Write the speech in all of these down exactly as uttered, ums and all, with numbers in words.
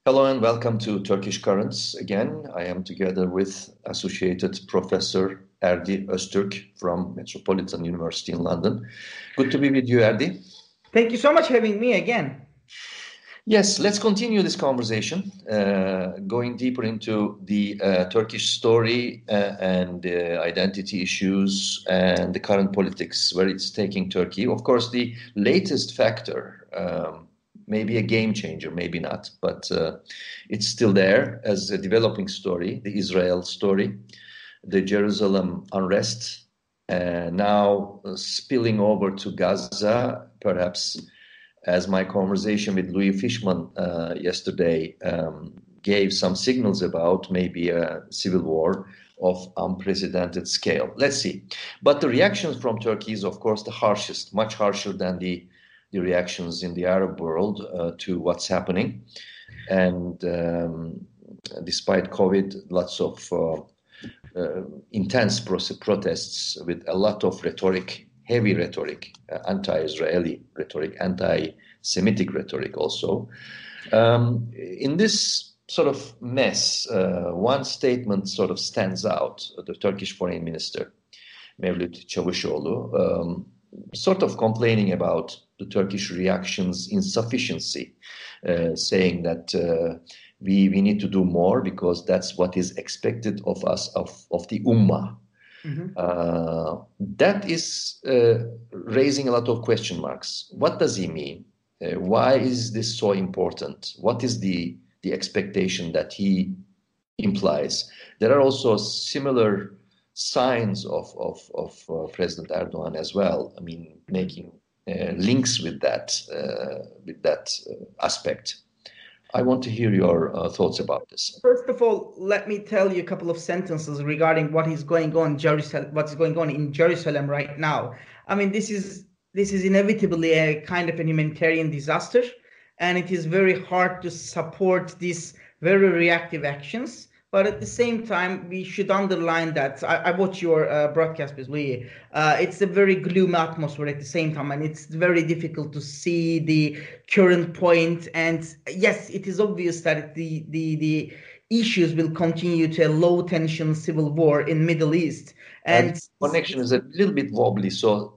Hello and welcome to Turkish Currents again. I am together with Associated Professor Erdi Öztürk from Metropolitan University in London. Good to be with you, Erdi. Thank you so much for having me again. Yes, let's continue this conversation, uh, going deeper into the uh, Turkish story uh, and uh, identity issues and the current politics, where it's taking Turkey. Of course, the latest factor, um, maybe a game changer, maybe not, but uh, it's still there as a developing story, the Israel story, the Jerusalem unrest, uh, now uh, spilling over to Gaza, perhaps, as my conversation with Louis Fishman uh, yesterday um, gave some signals about, maybe a civil war of unprecedented scale. Let's see. But the reactions from Turkey is, of course, the harshest, much harsher than the, the reactions in the Arab world uh, to what's happening. And um, despite COVID, lots of uh, uh, intense pro- protests with a lot of rhetoric, heavy rhetoric, uh, anti-Israeli rhetoric, anti-Semitic rhetoric also. Um, in this sort of mess, uh, one statement sort of stands out. The Turkish Foreign Minister, Mevlut Çavuşoğlu, um, sort of complaining about the Turkish reaction's insufficiency, uh, saying that uh, we, we need to do more because that's what is expected of us, of, of the Ummah. Mm-hmm. Uh, that is uh, raising a lot of question marks. What does he mean? Uh, why is this so important? What is the, the expectation that he implies? There are also similar signs of, of, of uh, President Erdogan as well. I mean, making uh, links with that, uh, with that uh, aspect. I want to hear your uh, thoughts about this. First of all, let me tell you a couple of sentences regarding what is going on in Jerusalem, what's going on in Jerusalem right now. I mean, this is this is inevitably a kind of a humanitarian disaster, and it is very hard to support these very reactive actions. But at the same time, we should underline that I, I watch your uh, broadcast with Louis. Uh, it's a very gloomy atmosphere at the same time, and it's very difficult to see the current point. And yes, it is obvious that the the the issues will continue to a low tension civil war in Middle East. And, and connection is a little bit wobbly, so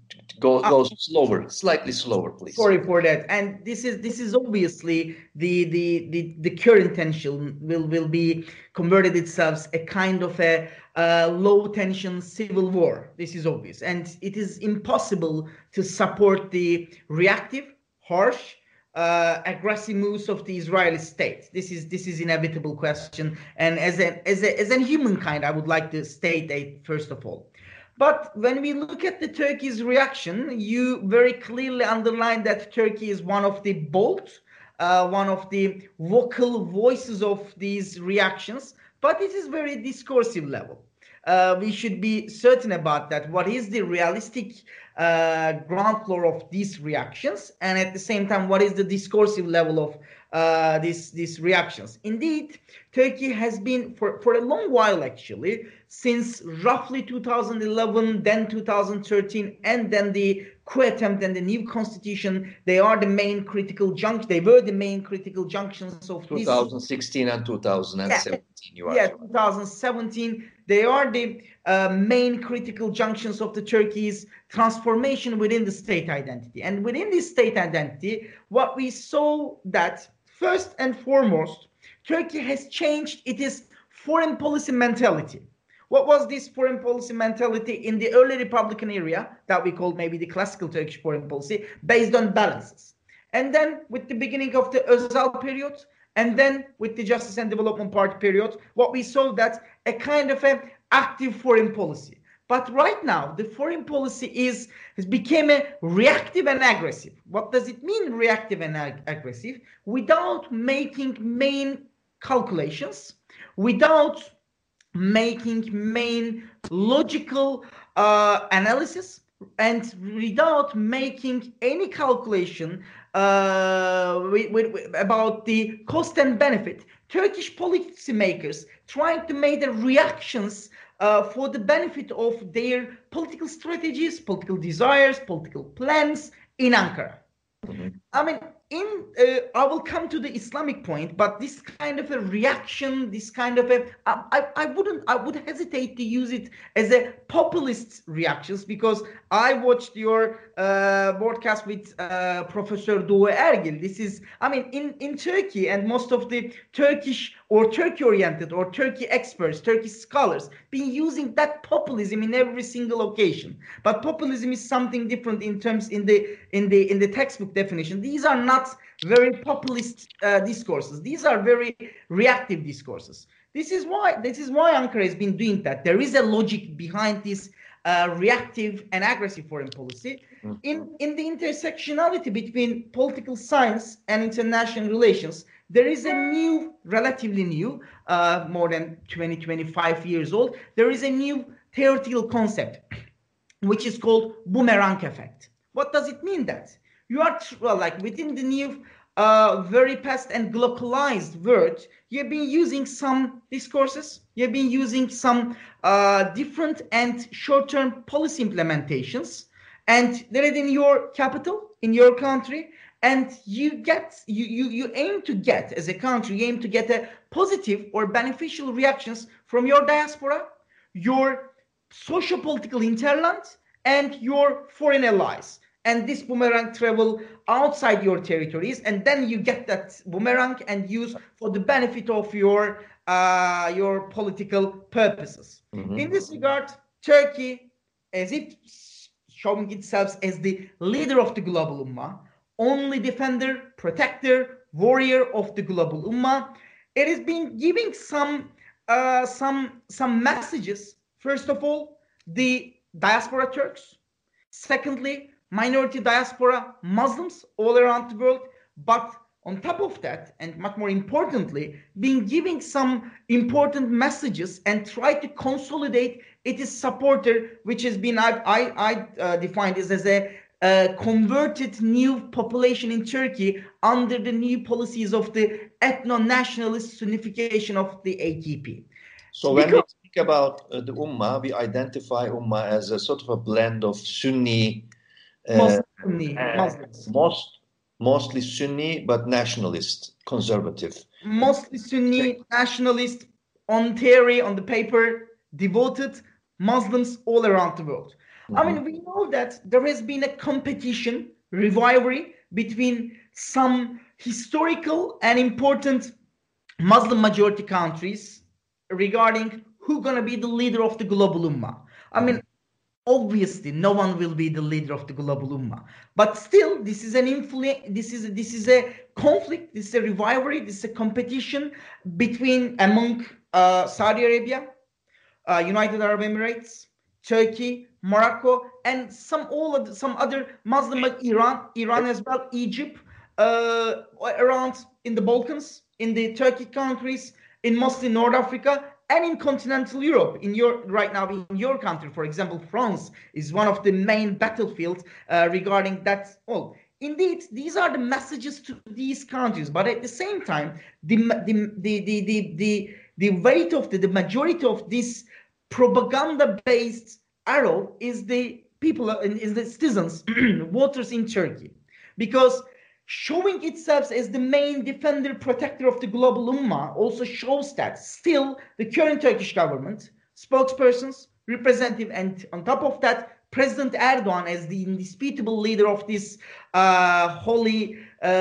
go go uh, slower, slightly slower, please. Sorry for that. And this is this is obviously the the the, the current tension will will be converted itself a kind of a uh, low tension civil war. This is obvious, and it is impossible to support the reactive, harsh, uh, aggressive moves of the Israeli state. This is this is inevitable question. And as a as a as a humankind, I would like to state that first of all. But when we look at the Turkey's reaction, you very clearly underline that Turkey is one of the bold, uh, one of the vocal voices of these reactions, but it is very discursive level. Uh, we should be certain about that. What is the realistic uh, ground floor of these reactions? And at the same time, what is the discursive level of uh, these, these reactions? Indeed, Turkey has been, for, for a long while actually, since roughly two thousand eleven, then two thousand thirteen, and then the coup attempt and the new constitution, they are the main critical junction. They were the main critical junctions of this. twenty sixteen and two thousand seventeen. Yeah, you are yeah two thousand seventeen. They are the uh, main critical junctions of the Turkey's transformation within the state identity. And within this state identity, what we saw that first and foremost, Turkey has changed its foreign policy mentality. What was this foreign policy mentality in the early Republican era that we called maybe the classical Turkish foreign policy, based on balances? And then with the beginning of the Özal period, and then with the Justice and Development Party period, what we saw that a kind of an active foreign policy. But right now, the foreign policy is has become a reactive and aggressive. What does it mean, reactive and ag- aggressive? Without making main calculations, without making main logical uh, analysis, and without making any calculation uh, with, with, with, about the cost and benefit, Turkish policymakers trying to make the reactions uh, for the benefit of their political strategies, political desires, political plans in Ankara. Mm-hmm. I mean, in uh, I will come to the Islamic point, but this kind of a reaction, this kind of a, I, I wouldn't, I would hesitate to use it as a populist reactions, because I watched your uh, broadcast with uh, Professor Doğu Ergil. This is, I mean, in, in Turkey, and most of the Turkish or Turkey-oriented or Turkey experts, Turkish scholars, been using that populism in every single occasion. But populism is something different in terms in the in the in the textbook definition. These are not very populist uh, discourses. These are very reactive discourses. This is why this is why Ankara has been doing that. There is a logic behind this uh, reactive and aggressive foreign policy. Mm-hmm. In in the intersectionality between political science and international relations, there is a new, relatively new, uh, more than twenty, twenty-five years old, there is a new theoretical concept, which is called boomerang effect. What does it mean that? You are, well, like within the new, uh, very past and globalized world, you've been using some discourses, you've been using some uh, different and short-term policy implementations, and they're in your capital, in your country, and you get, you, you, you aim to get, as a country, you aim to get a positive or beneficial reactions from your diaspora, your socio-political hinterland, and your foreign allies. And this boomerang travel outside your territories, and then you get that boomerang and use for the benefit of your uh, your political purposes. Mm-hmm. In this regard, Turkey, as if showing itself as the leader of the global ummah, only defender, protector, warrior of the global ummah, it has been giving some uh, some some messages. First of all, the diaspora Turks. Secondly, minority diaspora Muslims all around the world. But on top of that, and much more importantly, been giving some important messages and try to consolidate its supporter, which has been, I, I, I uh, defined this as a uh, converted new population in Turkey under the new policies of the ethno-nationalist Sunnification of the A K P. So when because, we speak about uh, the Ummah, we identify Ummah as a sort of a blend of Sunni, uh, Sunni Muslims. Most, mostly Sunni, but nationalist, conservative. Mostly Sunni, nationalist, on theory, on the paper, devoted Muslims all around the world. Mm-hmm. I mean, we know that there has been a competition, rivalry between some historical and important Muslim majority countries regarding who's going to be the leader of the global ummah. I mean, obviously, no one will be the leader of the global ummah. But still, this is an influence. This is this is a conflict. This is a rivalry. This is a competition between among uh, Saudi Arabia, uh, United Arab Emirates, Turkey, Morocco, and some all of the, some other Muslim like Iran, Iran as well, Egypt, uh, around in the Balkans, in the Turkey countries, in mostly North Africa, and in continental Europe. In your right now, in your country, for example, France is one of the main battlefields uh, regarding that. Well, indeed, these are the messages to these countries, but at the same time, the the the the the the, the weight of the, the majority of this propaganda-based arrow is the people, is the citizens, voters in Turkey, because showing itself as the main defender, protector of the global ummah also shows that still the current Turkish government, spokespersons, representative, and on top of that, President Erdogan as the indisputable leader of this uh, holy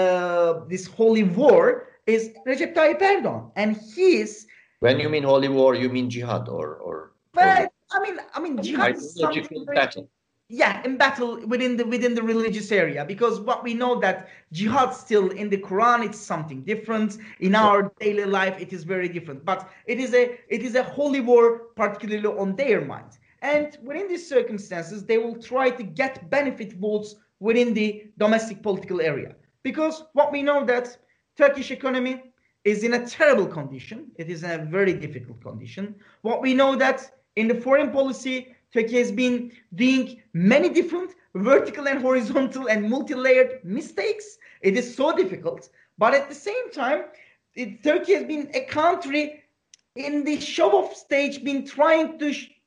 uh, this holy war is Recep Tayyip Erdogan, and he is. When you mean holy war, you mean jihad, or or. But or, I mean, I mean, jihad is something. Battle. Yeah, in battle within the within the religious area, because what we know that jihad still in the Quran, it's something different. In our daily life, it is very different. But it is a it is a holy war, particularly on their mind. And within these circumstances, they will try to get benefit votes within the domestic political area. Because what we know that Turkish economy is in a terrible condition. It is in a very difficult condition. What we know that in the foreign policy, Turkey has been doing many different vertical and horizontal and multi-layered mistakes. It is so difficult. But at the same time, it, Turkey has been a country in the show-off stage, been trying to sh-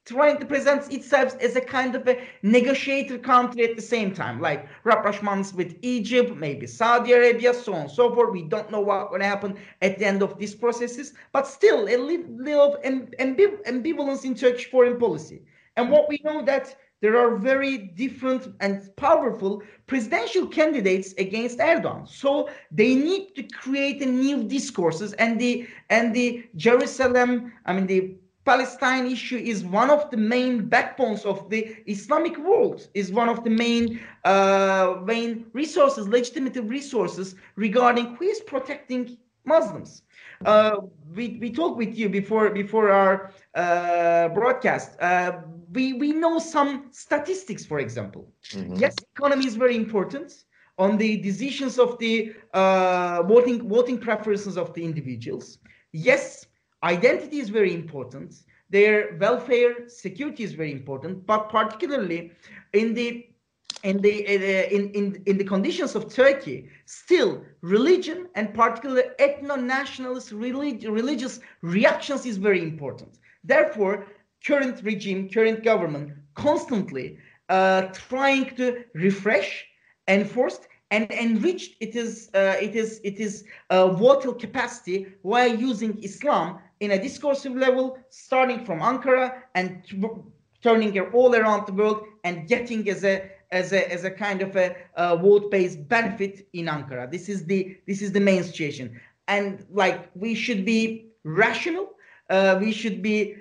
trying to present itself as a kind of a negotiator country at the same time, like rapprochements with Egypt, maybe Saudi Arabia, so on and so forth. We don't know what will happen at the end of these processes, but still a little of ambiv- ambivalence in Turkish foreign policy. And what we know that there are very different and powerful presidential candidates against Erdogan. So they need to create a new discourses, and the and the Jerusalem, I mean the Palestine issue is one of the main backbones of the Islamic world, is one of the main uh, main resources, legitimate resources regarding who is protecting Muslims. Uh, we we talked with you before before our uh, broadcast. Uh, we we know some statistics, for example. Mm-hmm. Yes, economy is very important on the decisions of the uh, voting voting preferences of the individuals. Yes, identity is very important. Their welfare, security is very important, but particularly in the in the uh, in, in in the conditions of Turkey, still religion and particularly ethno-nationalist relig- religious reactions is very important. Therefore, current regime, current government, constantly uh, trying to refresh, enforce, and enrich it is uh, it is it is uh, vocal capacity while using Islam in a discursive level, starting from Ankara and t- turning it all around the world and getting as a as a as a kind of a uh, vote-based benefit in Ankara. This is the this is the main situation, and like we should be rational. Uh, we should be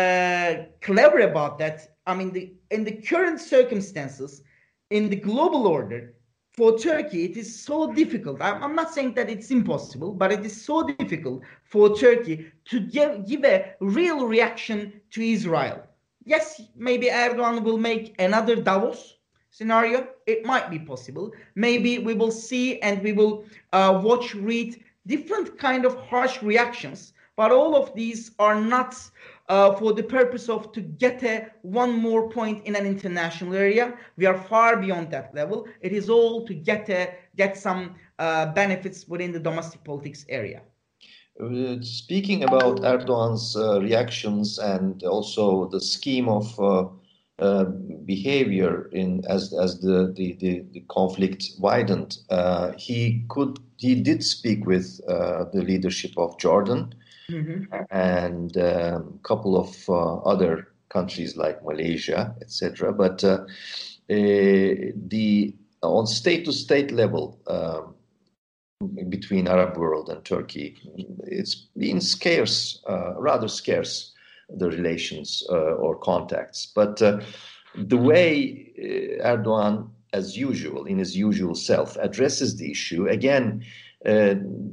uh, clever about that. I mean, the, in the current circumstances, in the global order, for Turkey, it is so difficult. I'm, I'm not saying that it's impossible, but it is so difficult for Turkey to give, give a real reaction to Israel. Yes, maybe Erdogan will make another Davos scenario. It might be possible. Maybe we will see and we will uh, watch, read different kind of harsh reactions. But all of these are not uh, for the purpose of to get a one more point in an international area. We are far beyond that level. It is all to get a, get some uh, benefits within the domestic politics area. Uh, speaking about Erdogan's uh, reactions and also the scheme of uh, uh, behavior in as as the the, the, the conflict widened, uh, he could he did speak with uh, the leadership of Jordan. Mm-hmm. And a um, couple of uh, other countries like Malaysia, et cetera. But uh, uh, the on state-to-state level uh, between Arab world and Turkey, it's been scarce, uh, rather scarce, the relations uh, or contacts. But uh, the way Erdogan, as usual, in his usual self, addresses the issue again. Uh,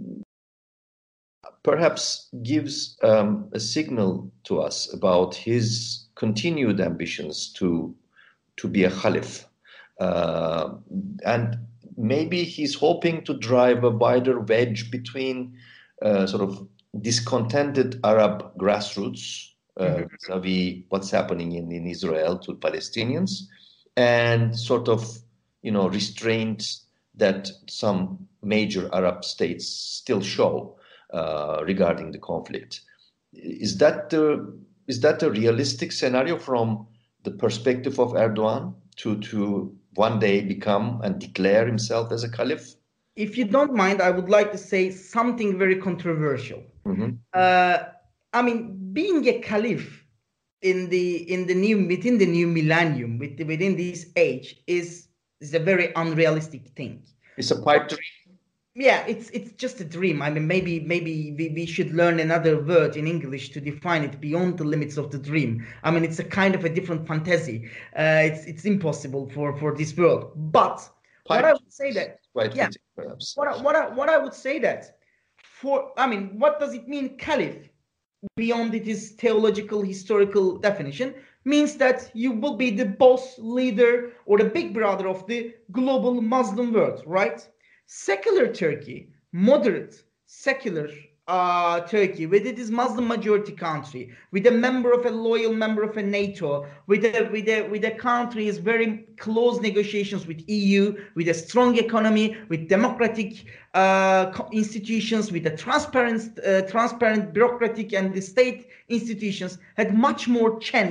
perhaps gives um, a signal to us about his continued ambitions to to be a caliph. Uh, and maybe he's hoping to drive a wider wedge between uh, sort of discontented Arab grassroots uh, mm-hmm. vis-a-vis what's happening in, in Israel to Palestinians, and sort of, you know, restraint that some major Arab states still show Uh, regarding the conflict. Is that the is that a realistic scenario from the perspective of Erdogan to to one day become and declare himself as a caliph? If you don't mind, I would like to say something very controversial. Mm-hmm. Uh, I mean, being a caliph in the in the new within the new millennium, with, within this age, is is a very unrealistic thing. It's a pipe dream. Yeah, it's it's just a dream. I mean, maybe maybe we, we should learn another word in English to define it beyond the limits of the dream. I mean, it's a kind of a different fantasy. Uh, it's it's impossible for, for this world. But Pipe, what I would say that quite yeah, fitting, perhaps. What I, what I, what I would say that for I mean, what does it mean, caliph? Beyond its theological historical definition, means that you will be the boss, leader, or the big brother of the global Muslim world, right? Secular Turkey, moderate, secular uh, Turkey, with its Muslim majority country, with a member of a loyal member of a NATO, with a with a with a country is very close negotiations with E U, with a strong economy, with democratic uh, institutions, with a transparent, uh, transparent bureaucratic and the state institutions, had much more chance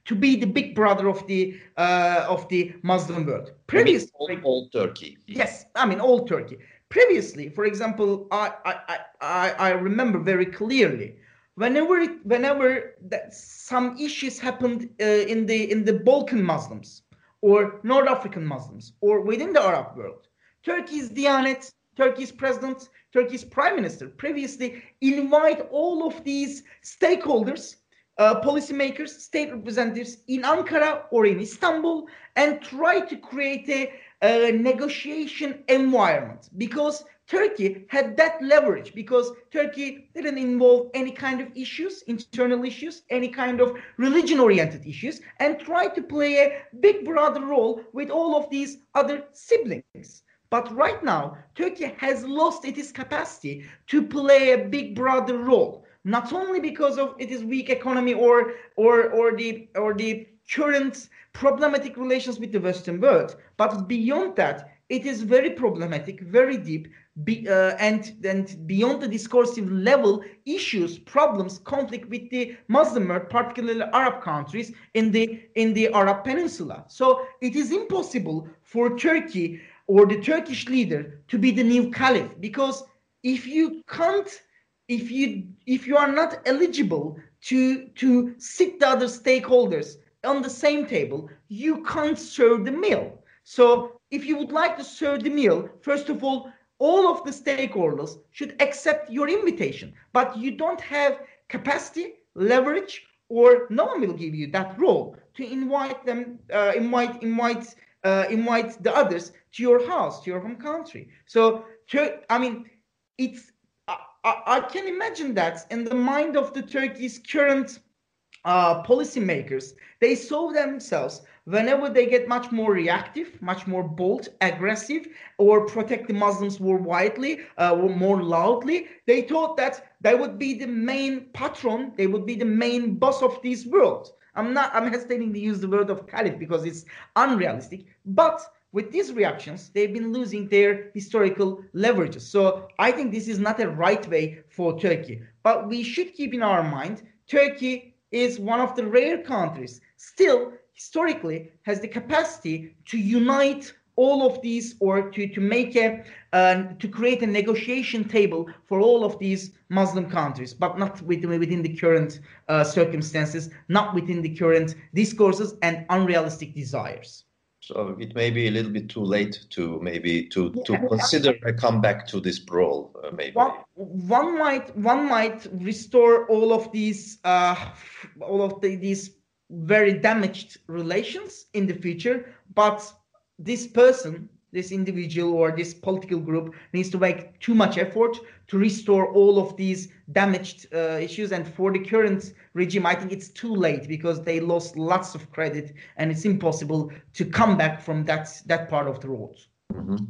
to be the big brother of the uh, of the Muslim world. Previously, old, old Turkey. Yes, I mean old Turkey. Previously, for example, I I I, I remember very clearly whenever whenever that some issues happened uh, in the in the Balkan Muslims or North African Muslims or within the Arab world, Turkey's Diyanet, Turkey's president, Turkey's prime minister previously invite all of these stakeholders, uh, policymakers, state representatives in Ankara or in Istanbul and try to create a, a negotiation environment because Turkey had that leverage because Turkey didn't involve any kind of issues, internal issues, any kind of religion-oriented issues, and tried to play a big brother role with all of these other siblings. But right now, Turkey has lost its capacity to play a big brother role, not only because of its weak economy or or or the or the current problematic relations with the Western world, but beyond that, it is very problematic, very deep, be, uh, and and beyond the discursive level, issues, problems, conflict with the Muslim world, particularly Arab countries in the in the Arab Peninsula. So it is impossible for Turkey or the Turkish leader to be the new caliph because if you can't, if you if you are not eligible to to sit the other stakeholders on the same table, you can't serve the meal. So if you would like to serve the meal, first of all, all of the stakeholders should accept your invitation, but you don't have capacity, leverage, or no one will give you that role to invite them, uh, invite, invite, uh, invite the others to your house, to your home country. So, I mean, it's I, I can imagine that in the mind of the Turkey's current uh, policymakers, they saw themselves whenever they get much more reactive, much more bold, aggressive, or protect the Muslims more widely, uh, or more loudly, they thought that they would be the main patron, they would be the main boss of this world. I'm not, I'm hesitating to use the word of caliph because it's unrealistic, but with these reactions, they've been losing their historical leverages. So I think this is not a right way for Turkey. But we should keep in our mind, Turkey is one of the rare countries still historically has the capacity to unite all of these or to, to make a, uh, to create a negotiation table for all of these Muslim countries, but not within, within the current uh, circumstances, not within the current discourses and unrealistic desires. So it may be a little bit too late to maybe to, yeah. to consider a comeback to this brawl. Uh, maybe one, one might one might restore all of these uh, all of the, these very damaged relations in the future, but this person, this individual or this political group needs to make too much effort to restore all of these damaged uh, issues. And for the current regime, I think it's too late because they lost lots of credit and it's impossible to come back from that, that part of the road. Mm-hmm.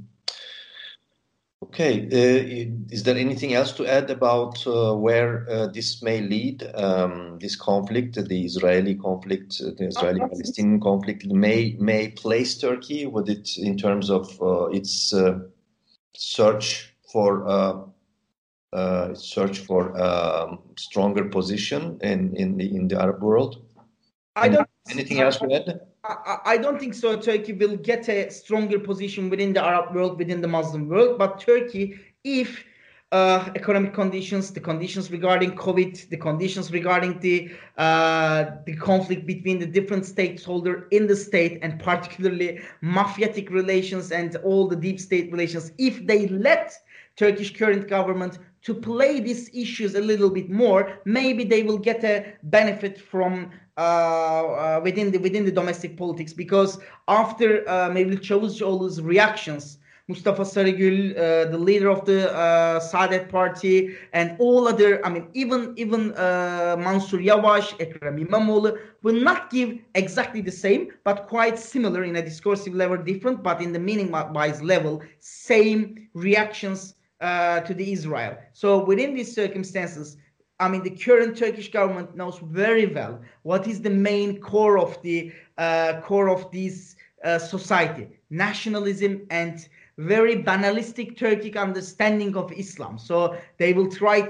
Okay, uh, is there anything else to add about uh, where uh, this may lead, um, this conflict, the Israeli conflict, uh, the Israeli-Palestinian conflict, may may place Turkey? Would it, in terms of uh, its uh, search for uh, uh, search for um, stronger position in in the in the Arab world? I don't. Anything else to add? I, I don't think so. Turkey will get a stronger position within the Arab world, within the Muslim world. But Turkey, if uh, economic conditions, the conditions regarding COVID, the conditions regarding the uh, the conflict between the different stakeholders in the state, and particularly mafiatic relations and all the deep state relations, if they let Turkish current government to play these issues a little bit more, maybe they will get a benefit from uh, uh, within the within the domestic politics. Because after uh, Mevlut Çavuşoğlu's reactions, Mustafa Sarıgül, uh, the leader of the uh, Saadet Party, and all other, I mean, even even uh, Mansur Yavaş, Ekrem İmamoğlu will not give exactly the same, but quite similar in a discursive level, different, but in the meaning-wise level, same reactions uh, to the Israel. So within these circumstances, I mean, the current Turkish government knows very well what is the main core of the uh, core of this uh, society: nationalism and very banalistic Turkic understanding of Islam. So they will try to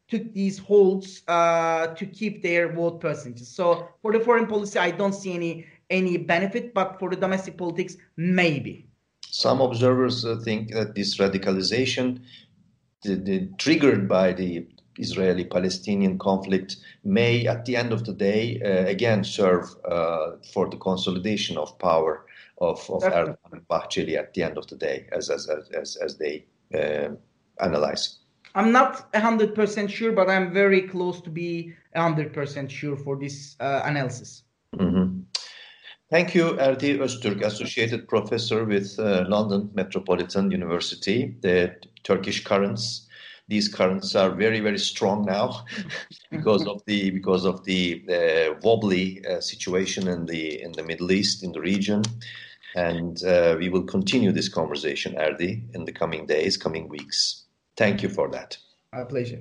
took these holds uh, to keep their vote percentages. So for the foreign policy, I don't see any any benefit, but for the domestic politics, maybe. Some observers uh, think that this radicalization the, the, triggered by the Israeli-Palestinian conflict may, at the end of the day, uh, again serve uh, for the consolidation of power of, of Erdogan and Bahçeli at the end of the day, as as as, as they uh, analyze. I'm not one hundred percent sure, but I'm very close to be one hundred percent sure for this uh, analysis. Mm-hmm. Thank you, Erdi Öztürk, Associated Professor with uh, London Metropolitan University. The Turkish currents, these currents are very, very strong now because of the because of the uh, wobbly uh, situation in the in the Middle East, in the region. And uh, we will continue this conversation, Erdi, in the coming days, coming weeks. Thank you for that. My pleasure.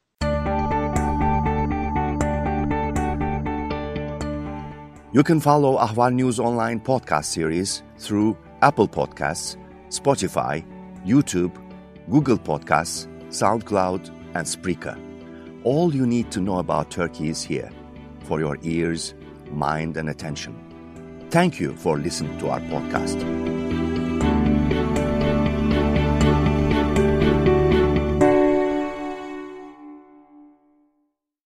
You can follow Ahval News Online podcast series through Apple Podcasts, Spotify, YouTube, Google Podcasts, SoundCloud, and Spreaker. All you need to know about Turkey is here for your ears, mind, and attention. Thank you for listening to our podcast.